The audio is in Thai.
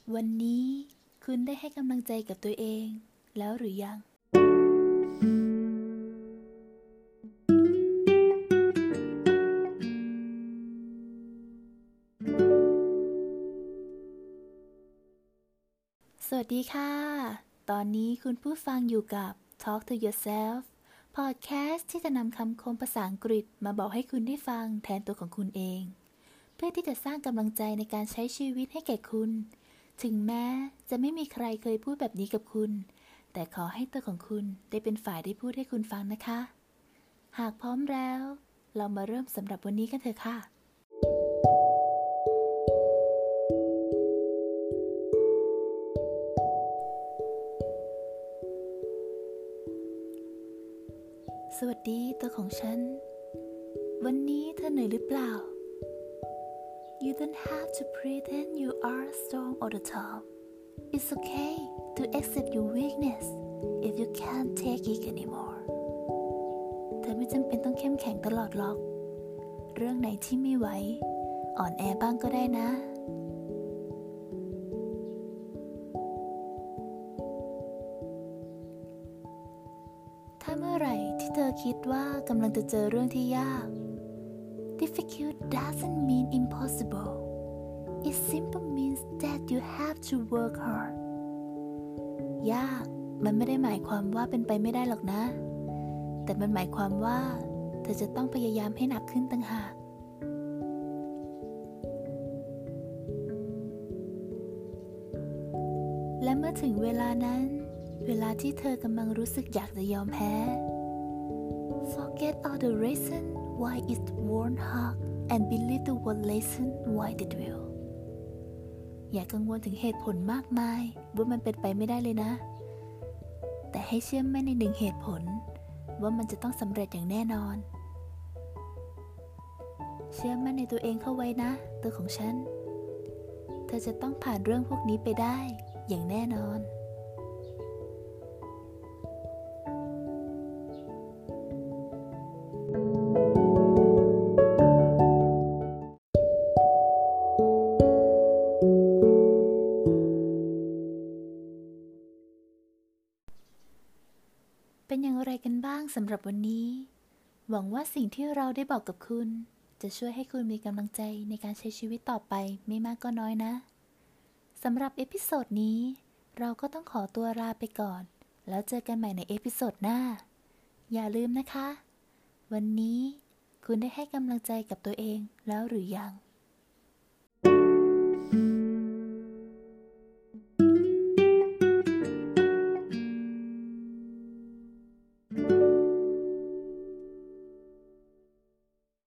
วันนี้คุณได้ให้กำลังใจกับตัวเองแล้วหรือยังสวัสดีค่ะตอนนี้คุณผู้ฟังอยู่กับ Talk to Yourself พอดแคสต์ที่จะนำคำคมภาษาอังกฤษมาบอกให้คุณได้ฟังแทนตัวของคุณเองเพื่อที่จะสร้างกำลังใจในการใช้ชีวิตให้แก่คุณถึงแม้จะไม่มีใครเคยพูดแบบนี้กับคุณแต่ขอให้ตัวของคุณได้เป็นฝ่ายได้พูดให้คุณฟังนะคะหากพร้อมแล้วเรามาเริ่มสำหรับวันนี้กันเถอะค่ะสวัสดีตัวของฉันวันนี้เธอเหนื่อยหรือเปล่า You don't have to pretend you are strong all the time. It's okay to accept your weakness if you can't take it anymore. เธอไม่จำเป็นต้องเข้มแข็งตลอดหรอกเรื่องไหนที่ไม่ไหวอ่อนแอบ้างก็ได้นะถ้าเมื่อไหร่ที่เธอคิดว่ากำลังจะเจอเรื่องที่ยาก Difficult doesn't mean impossible. It simply means that you have to work hard. ยากมันไม่ได้หมายความว่าเป็นไปไม่ได้หรอกนะแต่มันหมายความว่าเธอจะต้องพยายามให้หนักขึ้นต่างหากและเมื่อถึงเวลานั้นเวลาที่เธอกำลังรู้สึกอยากจะยอมแพ้ Forget all the reason why it won't hurt and believe the one lesson why it will อย่ากังวลถึงเหตุผลมากมายว่ามันเป็นไปไม่ได้เลยนะแต่ให้เชื่อมั่นในหนึ่งเหตุผลว่ามันจะต้องสำเร็จอย่างแน่นอนเชื่อมั่นในตัวเองเข้าไว้นะตัวของฉันเธอจะต้องผ่านเรื่องพวกนี้ไปได้อย่างแน่นอนเป็นอย่างไรกันบ้างสำหรับวันนี้หวังว่าสิ่งที่เราได้บอกกับคุณจะช่วยให้คุณมีกำลังใจในการใช้ชีวิตต่อไปไม่มากก็น้อยนะสำหรับเอพิโซดนี้เราก็ต้องขอตัวลาไปก่อนแล้วเจอกันใหม่ในเอพิโซดหน้าอย่าลืมนะคะวันนี้คุณได้ให้กำลังใจกับตัวเองแล้วหรือยัง